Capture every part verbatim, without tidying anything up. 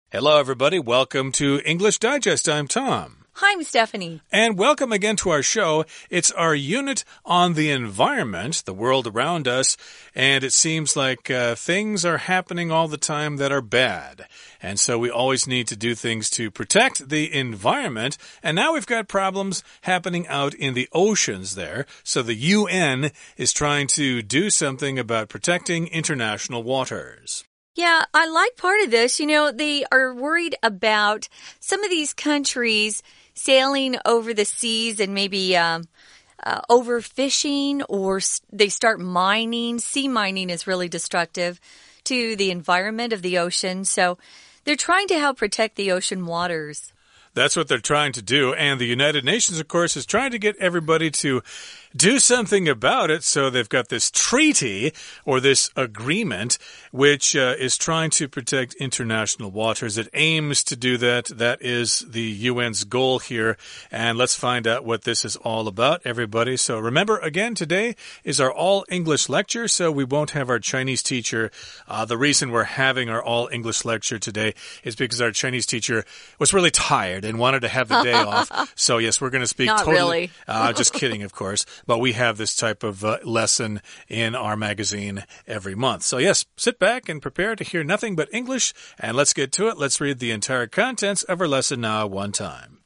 Hello, everybody. Welcome to English Digest. I'm Tom. Hi, I'm Stephanie. And welcome again to our show. It's our unit on the environment, the world around us, and it seems like uh, things are happening all the time that are bad. And so we always need to do things to protect the environment. And now we've got problems happening out in the oceans there. So the U N is trying to do something about protecting international waters. Yeah, I like part of this. You know, they are worried about some of these countries sailing over the seas and maybe um, uh, overfishing, or they start mining. Sea mining is really destructive to the environment of the ocean. So they're trying to help protect the ocean waters. That's what they're trying to do. And the United Nations, of course, is trying to get everybody to do something about it. So they've got this treaty or this agreement which uh, is trying to protect international waters. It aims to do that. That is the U N's goal here. And let's find out what this is all about, everybody. So remember, again, today is our all-English lecture, so we won't have our Chinese teacher. Uh, the reason we're having our all-English lecture today is because our Chinese teacher was really tired and wanted to have the day off. So, yes, we're going to speak Not totally. Really. uh, just kidding, of course. But we have this type of uh, lesson in our magazine every month. So, yes, sit back and prepare to hear nothing but English. And let's get to it. Let's read the entire contents of our lesson now one time.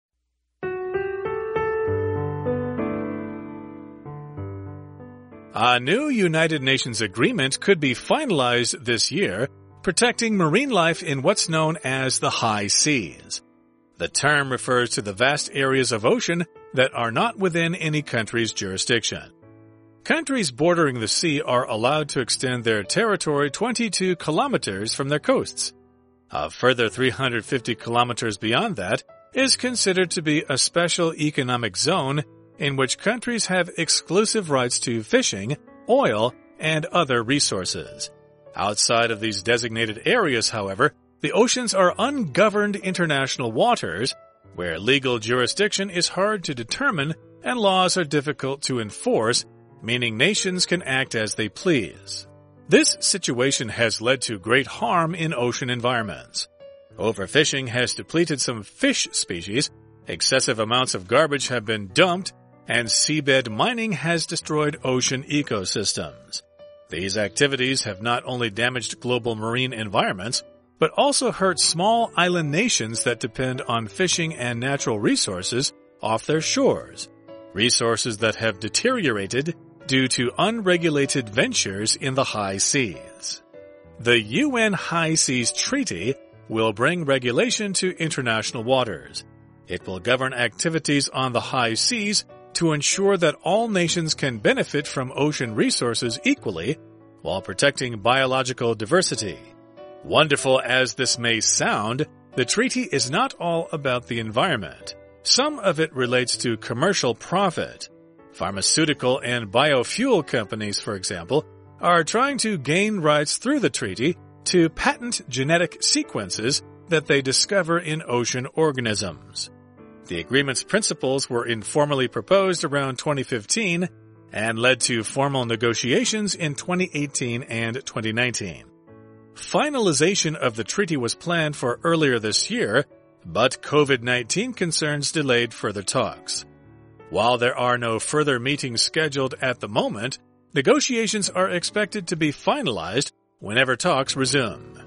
A new United Nations agreement could be finalized this year, protecting marine life in what's known as the high seas. The term refers to the vast areas of ocean that are not within any country's jurisdiction. Countries bordering the sea are allowed to extend their territory twenty-two kilometers from their coasts. A further three hundred fifty kilometers beyond that is considered to be a special economic zone in which countries have exclusive rights to fishing, oil, and other resources. Outside of these designated areas, however, the oceans are ungoverned international waters, where legal jurisdiction is hard to determine and laws are difficult to enforce, meaning nations can act as they please. This situation has led to great harm in ocean environments. Overfishing has depleted some fish species, excessive amounts of garbage have been dumped, and seabed mining has destroyed ocean ecosystems. These activities have not only damaged global marine environments, but also hurt small island nations that depend on fishing and natural resources off their shores, resources that have deteriorated due to unregulated ventures in the high seas. The U N High Seas Treaty will bring regulation to international waters. It will govern activities on the high seas to ensure that all nations can benefit from ocean resources equally while protecting biological diversity. Wonderful as this may sound, the treaty is not all about the environment. Some of it relates to commercial profit. Pharmaceutical and biofuel companies, for example, are trying to gain rights through the treaty to patent genetic sequences that they discover in ocean organisms. The agreement's principles were informally proposed around twenty fifteen and led to formal negotiations in twenty eighteen and twenty nineteen. Finalization of the treaty was planned for earlier this year, but COVID nineteen concerns delayed further talks. While there are no further meetings scheduled at the moment, negotiations are expected to be finalized whenever talks resume.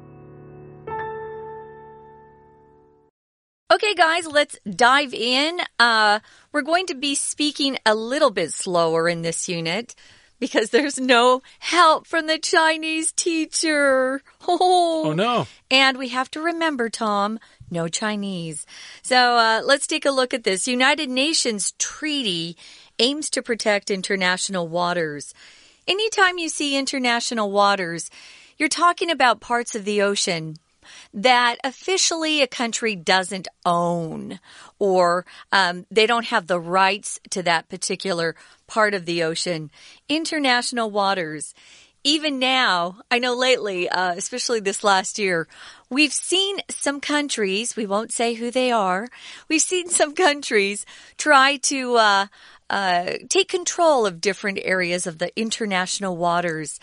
Okay, guys, let's dive in. Uh, we're going to be speaking a little bit slower in this unit because there's no help from the Chinese teacher. Oh, oh no. And we have to remember, Tom, no Chinese. So uh, let's take a look at this. United Nations Treaty aims to protect international waters. Anytime you see international waters, you're talking about parts of the ocean that officially a country doesn't own, or um, they don't have the rights to that particular part of the ocean. International waters. Even now, I know lately, uh, especially this last year, we've seen some countries, we won't say who they are, we've seen some countries try to uh, uh, take control of different areas of the international waters.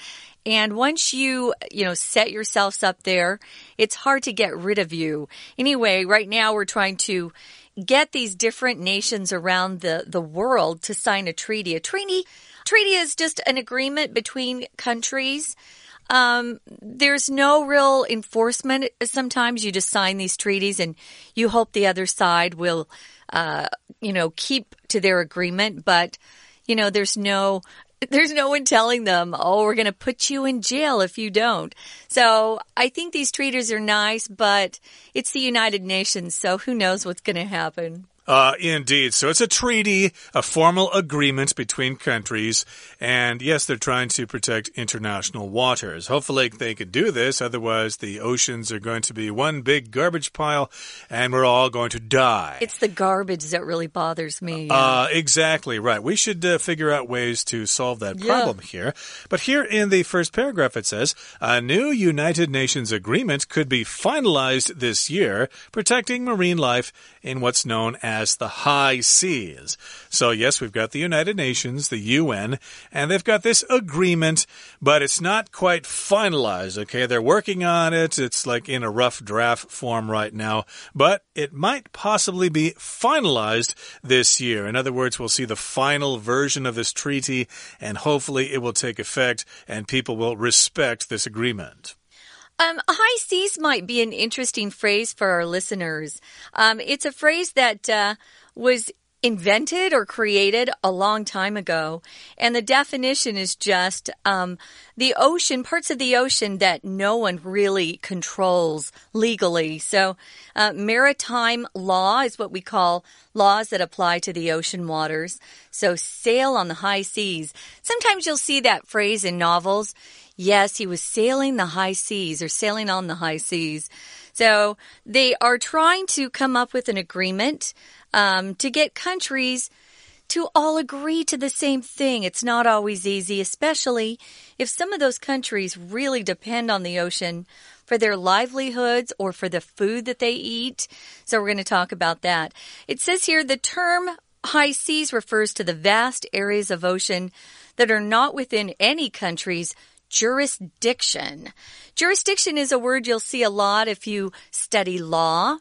And once you, you know, set yourselves up there, it's hard to get rid of you. Anyway, right now we're trying to get these different nations around the, the world to sign a treaty. A treaty, treaty is just an agreement between countries. Um, there's no real enforcement. Sometimes you just sign these treaties and you hope the other side will, uh, you know, keep to their agreement. But, you know, there's no... There's no one telling them, oh, we're going to put you in jail if you don't. So I think these treaties are nice, but it's the United Nations, so who knows what's going to happen. Uh, indeed. So it's a treaty, a formal agreement between countries. And yes, they're trying to protect international waters. Hopefully they can do this. Otherwise, the oceans are going to be one big garbage pile and we're all going to die. It's the garbage that really bothers me. Yeah. Uh, exactly right. We should uh, figure out ways to solve that problem yeah. here. But here in the first paragraph, it says, a new United Nations agreement could be finalized this year, protecting marine life in what's known as as the high seas. So yes, we've got the United Nations, the U N, and they've got this agreement, but it's not quite finalized, okay? They're working on it. It's like in a rough draft form right now, but it might possibly be finalized this year. In other words, we'll see the final version of this treaty, and hopefully it will take effect and people will respect this agreement. Um, high seas might be an interesting phrase for our listeners. Um, it's a phrase that uh, was invented or created a long time ago. And the definition is just um, the ocean, parts of the ocean that no one really controls legally. So uh, maritime law is what we call laws that apply to the ocean waters. So sail on the high seas. Sometimes you'll see that phrase in novels. Yes, he was sailing the high seas or sailing on the high seas. So they are trying to come up with an agreement um, to get countries to all agree to the same thing. It's not always easy, especially if some of those countries really depend on the ocean for their livelihoods or for the food that they eat. So we're going to talk about that. It says here the term high seas refers to the vast areas of ocean that are not within any country's jurisdiction. Jurisdiction is a word you'll see a lot if you study law,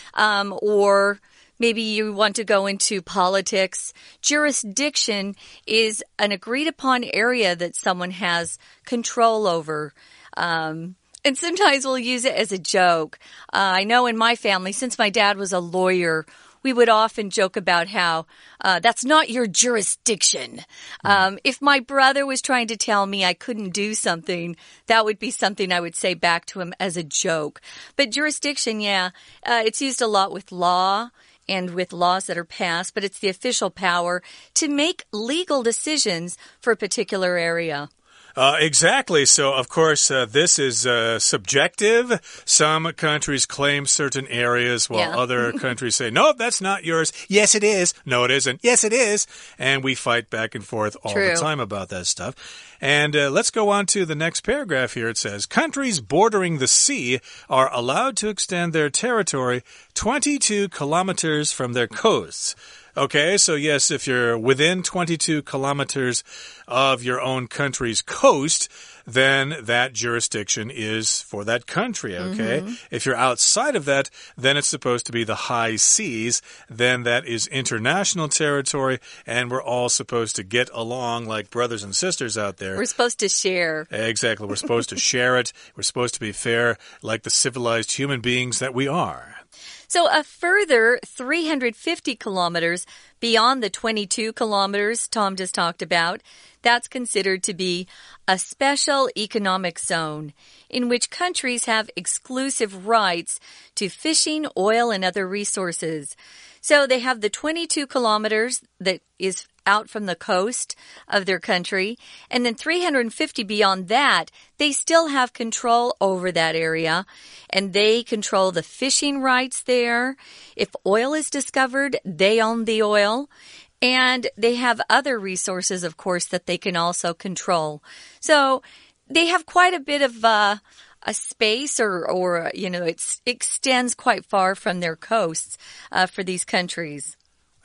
um, or maybe you want to go into politics. Jurisdiction is an agreed upon area that someone has control over. Um, and sometimes we'll use it as a joke. Uh, I know in my family, since my dad was a lawyer, we would often joke about how uh, that's not your jurisdiction. Um, if my brother was trying to tell me I couldn't do something, that would be something I would say back to him as a joke. But jurisdiction, yeah, uh, it's used a lot with law and with laws that are passed, but it's the official power to make legal decisions for a particular area. Uh, exactly. So, of course, uh, this is uh, subjective. Some countries claim certain areas while yeah. other countries say, no, that's not yours. Yes, it is. No, it isn't. Yes, it is. And we fight back and forth all True. the time about that stuff. And uh, let's go on to the next paragraph here. It says, countries bordering the sea are allowed to extend their territory twenty-two kilometers from their coasts. Okay, so yes, if you're within twenty-two kilometers of your own country's coast, then that jurisdiction is for that country, okay? Mm-hmm. If you're outside of that, then it's supposed to be the high seas. Then that is international territory, and we're all supposed to get along like brothers and sisters out there. We're supposed to share. Exactly, we're supposed to share it. We're supposed to be fair like the civilized human beings that we are. So a further three hundred fifty kilometers beyond the twenty-two kilometers Tom just talked about, that's considered to be a special economic zone in which countries have exclusive rights to fishing, oil, and other resources. So they have the twenty-two kilometers that is out from the coast of their country, and then three hundred fifty beyond that, they still have control over that area, and they control the fishing rights there. If oil is discovered, they own the oil, and they have other resources, of course, that they can also control. So they have quite a bit of uh, a space, or, or you know, it extends quite far from their coasts uh, for these countries.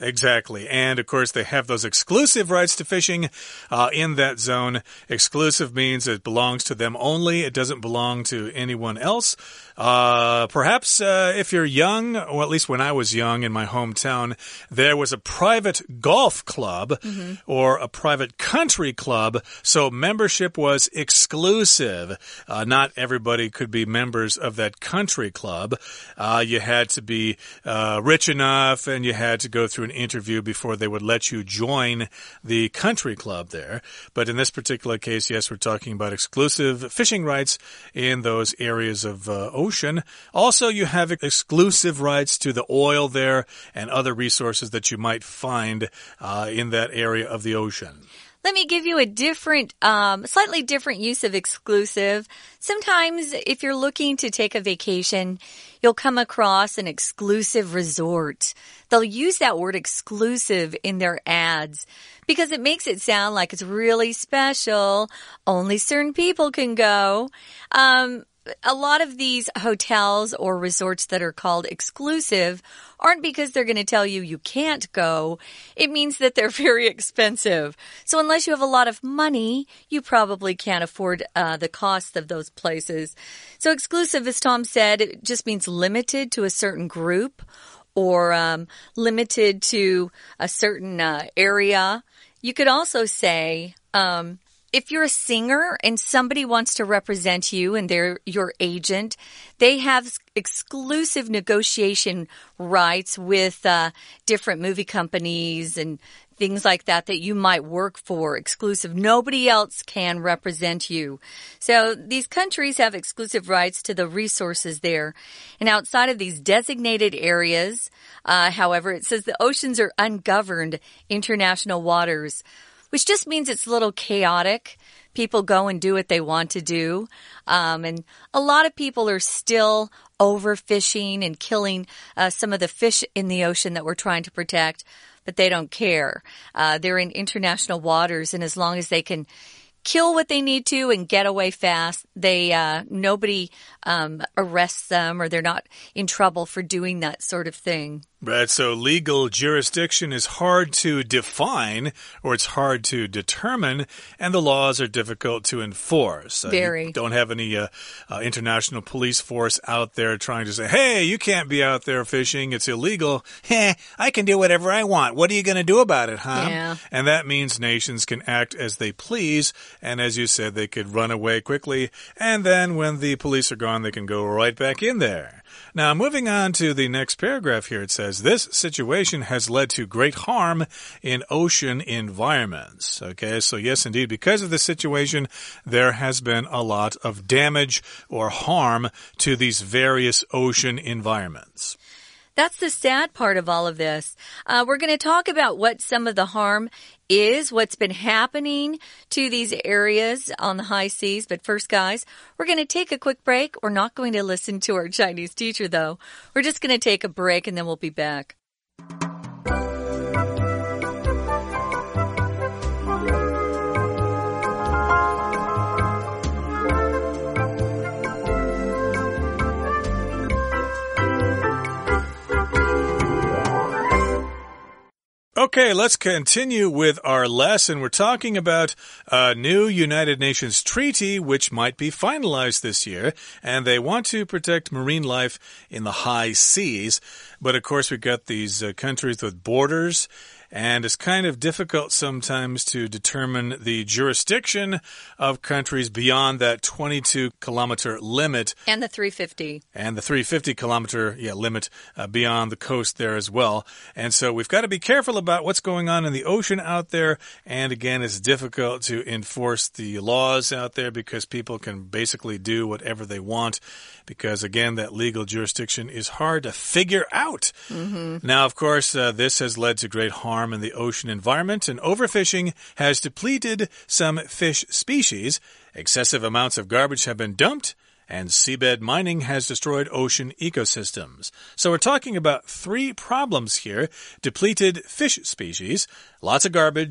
Exactly. And, of course, they have those exclusive rights to fishing uh, in that zone. Exclusive means it belongs to them only. It doesn't belong to anyone else. Uh, perhaps uh, if you're young, or at least when I was young in my hometown, there was a private golf club mm-hmm. or a private country club. So membership was exclusive. Uh, not everybody could be members of that country club. Uh, you had to be uh, rich enough, and you had to go through an interview before they would let you join the country club there. But in this particular case, yes, we're talking about exclusive fishing rights in those areas of uh, ocean. Also, you have exclusive rights to the oil there and other resources that you might find uh, in that area of the ocean. Let me give you a different, um, slightly different use of exclusive. Sometimes if you're looking to take a vacation, you'll come across an exclusive resort. They'll use that word exclusive in their ads because it makes it sound like it's really special. Only certain people can go. Um, A lot of these hotels or resorts that are called exclusive aren't because they're going to tell you you can't go. It means that they're very expensive. So unless you have a lot of money, you probably can't afford uh, the cost of those places. So exclusive, as Tom said, it just means limited to a certain group or um, limited to a certain uh, area. You could also say... Um, If you're a singer and somebody wants to represent you and they're your agent, they have exclusive negotiation rights with uh, different movie companies and things like that that you might work for. Exclusive. Nobody else can represent you. So these countries have exclusive rights to the resources there. And outside of these designated areas, uh, however, it says the oceans are ungoverned international waters, which just means it's a little chaotic. People go and do what they want to do. Um, and a lot of people are still overfishing and killing uh, some of the fish in the ocean that we're trying to protect, but they don't care. Uh, they're in international waters, and as long as they can kill what they need to and get away fast, they uh, nobody um, arrests them or they're not in trouble for doing that sort of thing. Right, so legal jurisdiction is hard to define, or it's hard to determine, and the laws are difficult to enforce. Very. Uh, you don't have any uh, uh, international police force out there trying to say, hey, you can't be out there fishing, it's illegal. Heh, I can do whatever I want. What are you going to do about it, huh? Yeah. And that means nations can act as they please, and as you said, they could run away quickly, and then when the police are gone, they can go right back in there. Now, moving on to the next paragraph here, it says, this situation has led to great harm in ocean environments. Okay, so yes, indeed, because of this situation, there has been a lot of damage or harm to these various ocean environments. That's the sad part of all of this. Uh, we're going to talk about what some of the harm is, what's been happening to these areas on the high seas. But first, guys, we're going to take a quick break. We're not going to listen to our Chinese teacher, though. We're just going to take a break, and then we'll be back. Okay, let's continue with our lesson. We're talking about a new United Nations treaty which might be finalized this year, and they want to protect marine life in the high seas. But of course, we've got these uh, countries with borders, and it's kind of difficult sometimes to determine the jurisdiction of countries beyond that twenty-two kilometer limit. And the three fifty. And the three fifty kilometer yeah, limit uh, beyond the coast there as well. And so we've got to be careful about what's going on in the ocean out there. And again, it's difficult to enforce the laws out there because people can basically do whatever they want. Because again, that legal jurisdiction is hard to figure out. Mm-hmm. Now, of course, uh, this has led to great harm in the ocean environment, and overfishing has depleted some fish species. Excessive amounts of garbage have been dumped, and seabed mining has destroyed ocean ecosystems. So we're talking about three problems here. Depleted fish species, lots of garbage,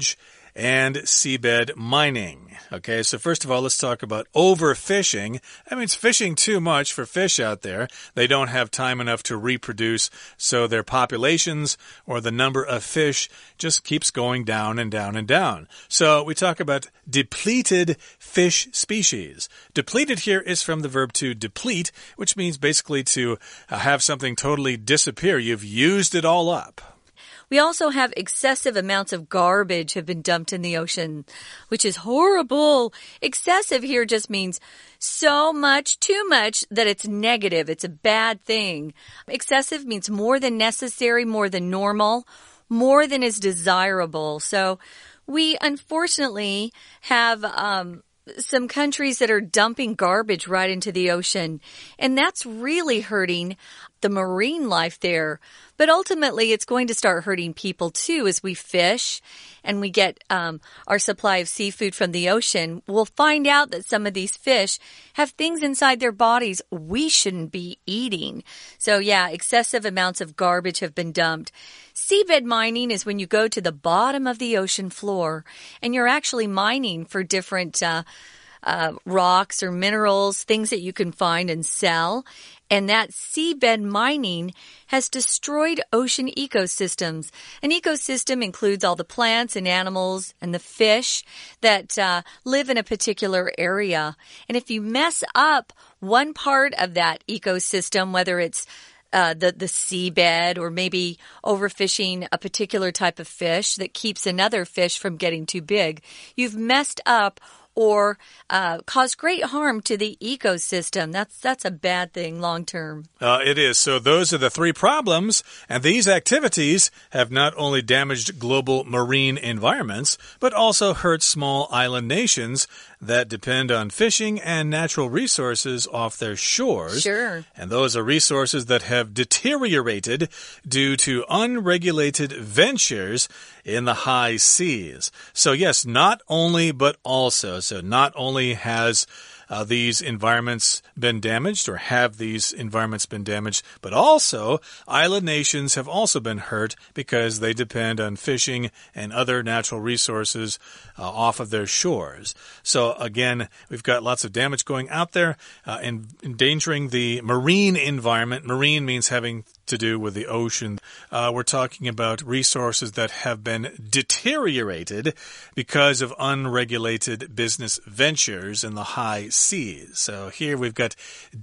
and seabed mining. Okay, so first of all, let's talk about overfishing. That means fishing too much for fish out there. They don't have time enough to reproduce, so their populations or the number of fish just keeps going down and down and down. So we talk about depleted fish species. Depleted here is from the verb to deplete, which means basically to uh, have something totally disappear. You've used it all up. We also have excessive amounts of garbage have been dumped in the ocean, which is horrible. Excessive here just means so much, too much, that it's negative. It's a bad thing. Excessive means more than necessary, more than normal, more than is desirable. So we unfortunately have um, some countries that are dumping garbage right into the ocean, and that's really hurting the marine life there. But ultimately, it's going to start hurting people too as we fish and we get um, our supply of seafood from the ocean. We'll find out that some of these fish have things inside their bodies we shouldn't be eating. So yeah, excessive amounts of garbage have been dumped. Seabed mining is when you go to the bottom of the ocean floor and you're actually mining for different uh, uh, rocks or minerals, things that you can find and sell. And that seabed mining has destroyed ocean ecosystems. An ecosystem includes all the plants and animals and the fish that uh, live in a particular area. And if you mess up one part of that ecosystem, whether it's Uh, the, the seabed or maybe overfishing a particular type of fish that keeps another fish from getting too big, you've messed up or uh, caused great harm to the ecosystem. That's that's a bad thing long term. Uh, it is. So those are the three problems, and these activities have not only damaged global marine environments, but also hurt small island nations that depend on fishing and natural resources off their shores. Sure. And those are resources that have deteriorated due to unregulated ventures in the high seas. So yes, not only, but also. So not only has Uh, these environments been damaged or have these environments been damaged, but also island nations have also been hurt because they depend on fishing and other natural resources uh, off of their shores. So again, we've got lots of damage going out there, uh, and endangering the marine environment. Marine means having to do with the ocean. Uh, we're talking about resources that have been deteriorated because of unregulated business ventures in the high seas. So here we've got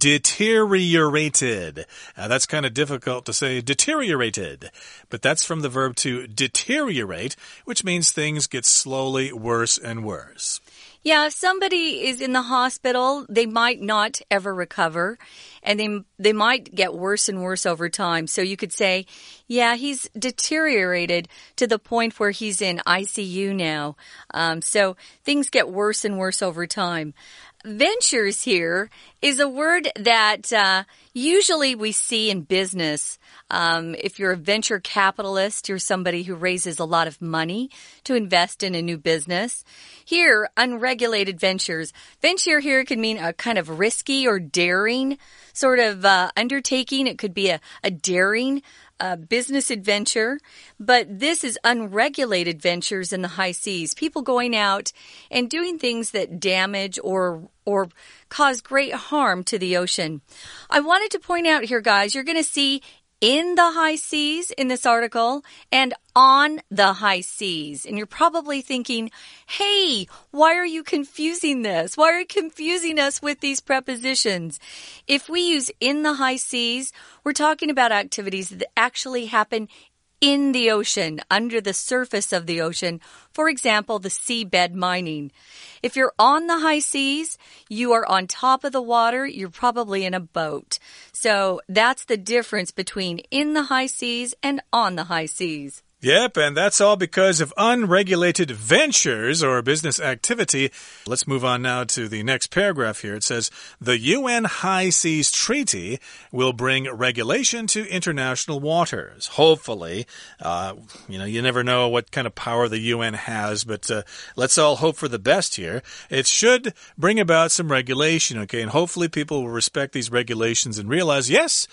deteriorated. Uh, that's kind of difficult to say, deteriorated. But that's from the verb to deteriorate, which means things get slowly worse and worse. Yeah, if somebody is in the hospital, they might not ever recover, and they they might get worse and worse over time. So you could say, yeah, he's deteriorated to the point where he's in I C U now. Um, so things get worse and worse over time. Ventures here is a word that uh, usually we see in business. Um, if you're a venture capitalist, you're somebody who raises a lot of money to invest in a new business. Here, unregulated ventures. Venture here could mean a kind of risky or daring sort of uh, undertaking. It could be a, a daring Uh, business adventure, but this is unregulated ventures in the high seas. People going out and doing things that damage or or cause great harm to the ocean. I wanted to point out here, guys, you're going to see in the high seas in this article and on the high seas. And you're probably thinking, hey, why are you confusing this? Why are you confusing us with these prepositions? If we use in the high seas, we're talking about activities that actually happen in the ocean, under the surface of the ocean. For example, the seabed mining. If you're on the high seas, you are on top of the water, you're probably in a boat. So that's the difference between in the high seas and on the high seas. Yep, and that's all because of unregulated ventures or business activity. Let's move on now to the next paragraph here. It says, the U N High Seas Treaty will bring regulation to international waters. Hopefully. Uh, you know, you never know what kind of power the U N has, but uh, let's all hope for the best here. It should bring about some regulation, okay? And hopefully people will respect these regulations and realize, yes,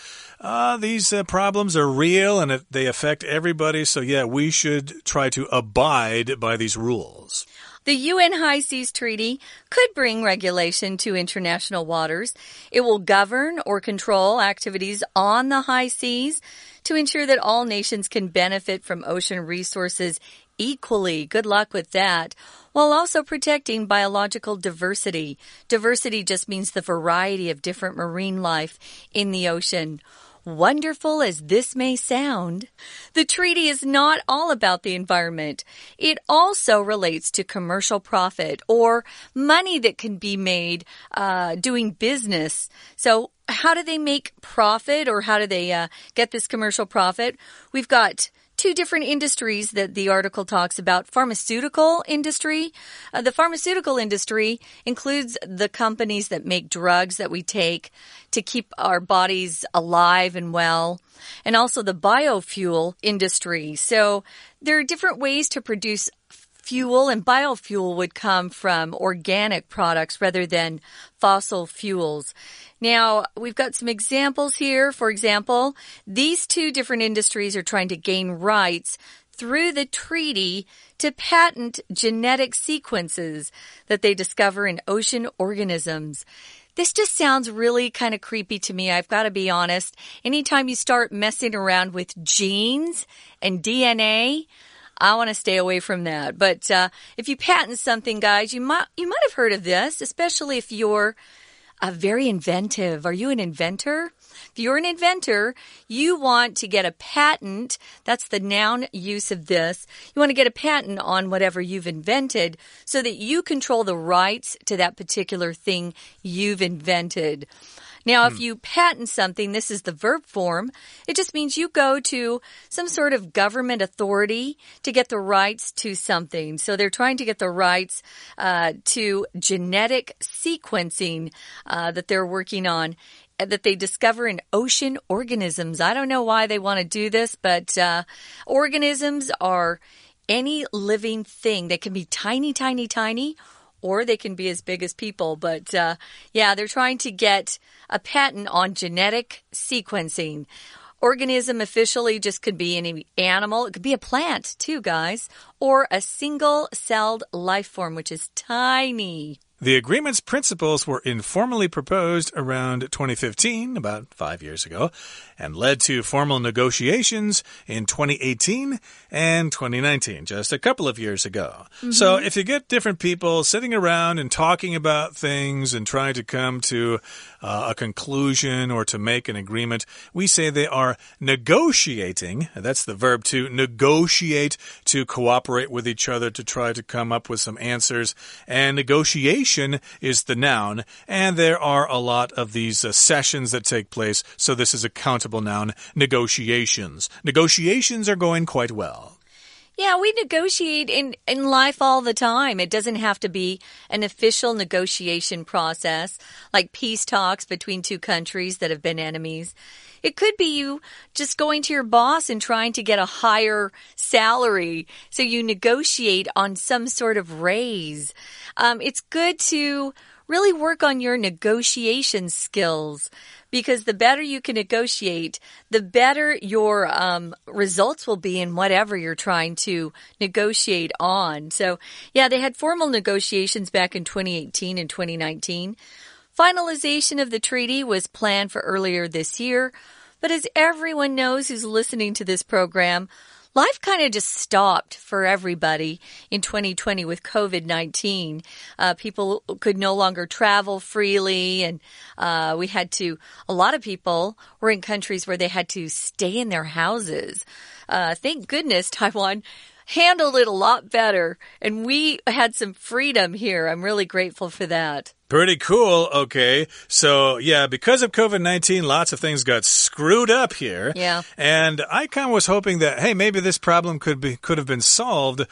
uh, these uh, problems are real and it, they affect everybody. So, yeah, we should try to abide by these rules. The U N High Seas Treaty could bring regulation to international waters. It will govern or control activities on the high seas to ensure that all nations can benefit from ocean resources equally. Good luck with that. While also protecting biological diversity. Diversity just means the variety of different marine life in the ocean. Wonderful as this may sound, the treaty is not all about the environment. It also relates to commercial profit or money that can be made uh, doing business. So how do they make profit, or how do they uh, get this commercial profit? We've got two different industries that the article talks about. Pharmaceutical industry. Uh, the pharmaceutical industry includes the companies that make drugs that we take to keep our bodies alive and well, and also the biofuel industry. So there are different ways to produce fuel, and biofuel would come from organic products rather than fossil fuels. Now, we've got some examples here. For example, these two different industries are trying to gain rights through the treaty to patent genetic sequences that they discover in ocean organisms. This just sounds really kind of creepy to me, I've got to be honest. Anytime you start messing around with genes and D N A, I want to stay away from that. But uh, if you patent something, guys, you might you might have heard of this, especially if you're uh, very inventive. Are you an inventor? If you're an inventor, you want to get a patent. That's the noun use of this. You want to get a patent on whatever you've invented so that you control the rights to that particular thing you've invented. Now, if you patent something, this is the verb form. It just means you go to some sort of government authority to get the rights to something. So they're trying to get the rights uh, to genetic sequencing uh, that they're working on, that they discover in ocean organisms. I don't know why they want to do this, but uh, organisms are any living thing. They can be tiny, tiny, tiny, or they can be as big as people. But, uh, yeah, they're trying to get a patent on genetic sequencing. Organism officially just could be any animal. It could be a plant, too, guys. Or a single-celled life form, which is tiny. The agreement's principles were informally proposed around twenty fifteen, about five years ago, and led to formal negotiations in twenty eighteen and twenty nineteen, just a couple of years ago. Mm-hmm. So if you get different people sitting around and talking about things and trying to come to uh, a conclusion or to make an agreement, we say they are negotiating. That's the verb to negotiate, to cooperate with each other to try to come up with some answers. And negotiation is the noun, and there are a lot of these uh, sessions that take place, so this is a countable noun, negotiations. Negotiations are going quite well. Yeah, we negotiate in, in life all the time. It doesn't have to be an official negotiation process, like peace talks between two countries that have been enemies. It could be you just going to your boss and trying to get a higher salary, so you negotiate on some sort of raise. Um, it's good to really work on your negotiation skills, because the better you can negotiate, the better your um, results will be in whatever you're trying to negotiate on. So, yeah, they had formal negotiations back in twenty eighteen and twenty nineteen. Finalization of the treaty was planned for earlier this year, but as everyone knows who's listening to this program, life kind of just stopped for everybody in twenty twenty with COVID nineteen. Uh, people could no longer travel freely, and uh, we had to, a lot of people were in countries where they had to stay in their houses. Uh, thank goodness Taiwan handled it a lot better, and we had some freedom here. I'm really grateful for that. Pretty cool. Okay. So, yeah, because of COVID nineteen, lots of things got screwed up here. Yeah. And I kind of was hoping that, hey, maybe this problem could be could have been solved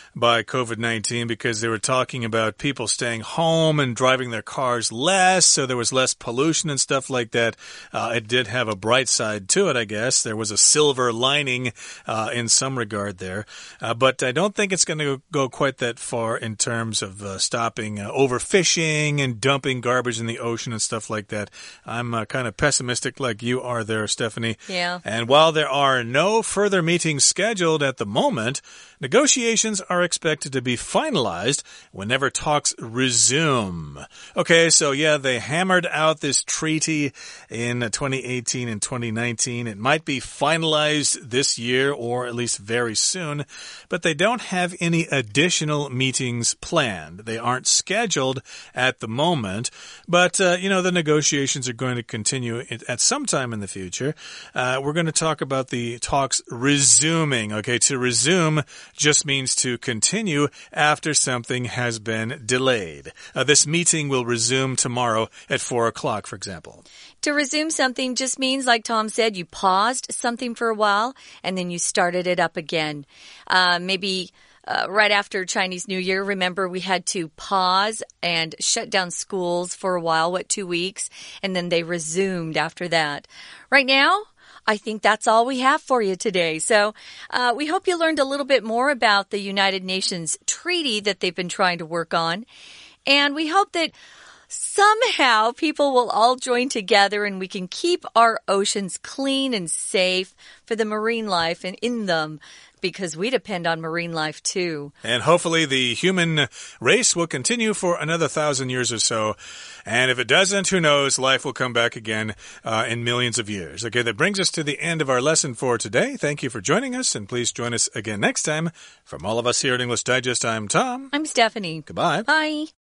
by COVID nineteen because they were talking about people staying home and driving their cars less, so there was less pollution and stuff like that. Uh, it did have a bright side to it, I guess. There was a silver lining uh, in some regard there. Uh, but I don't think it's going to go quite that far in terms of uh, stopping uh, overfishing and dumping garbage in the ocean and stuff like that. I'm uh, kind of pessimistic like you are there, Stephanie. Yeah. And while there are no further meetings scheduled at the moment, negotiations are expected to be finalized whenever talks resume. Okay, so yeah, they hammered out this treaty in twenty eighteen and twenty nineteen. It might be finalized this year or at least very soon, but they don't have any additional meetings planned. They aren't scheduled at the moment, but, uh, you know, the negotiations are going to continue at some time in the future. Uh, we're going to talk about the talks resuming. Okay, to resume just means to continue after something has been delayed. Uh, this meeting will resume tomorrow at four o'clock, for example. To resume something just means, like Tom said, you paused something for a while and then you started it up again. Uh, maybe uh, right after Chinese New Year, remember we had to pause and shut down schools for a while, what, two weeks? And then they resumed after that. Right now, I think that's all we have for you today. So uh, we hope you learned a little bit more about the United Nations treaty that they've been trying to work on. And we hope that somehow people will all join together and we can keep our oceans clean and safe for the marine life and in them, because we depend on marine life too. And hopefully the human race will continue for another thousand years or so. And if it doesn't, who knows, life will come back again uh, in millions of years. Okay, that brings us to the end of our lesson for today. Thank you for joining us, and please join us again next time. From all of us here at English Digest, I'm Tom. I'm Stephanie. Goodbye. Bye.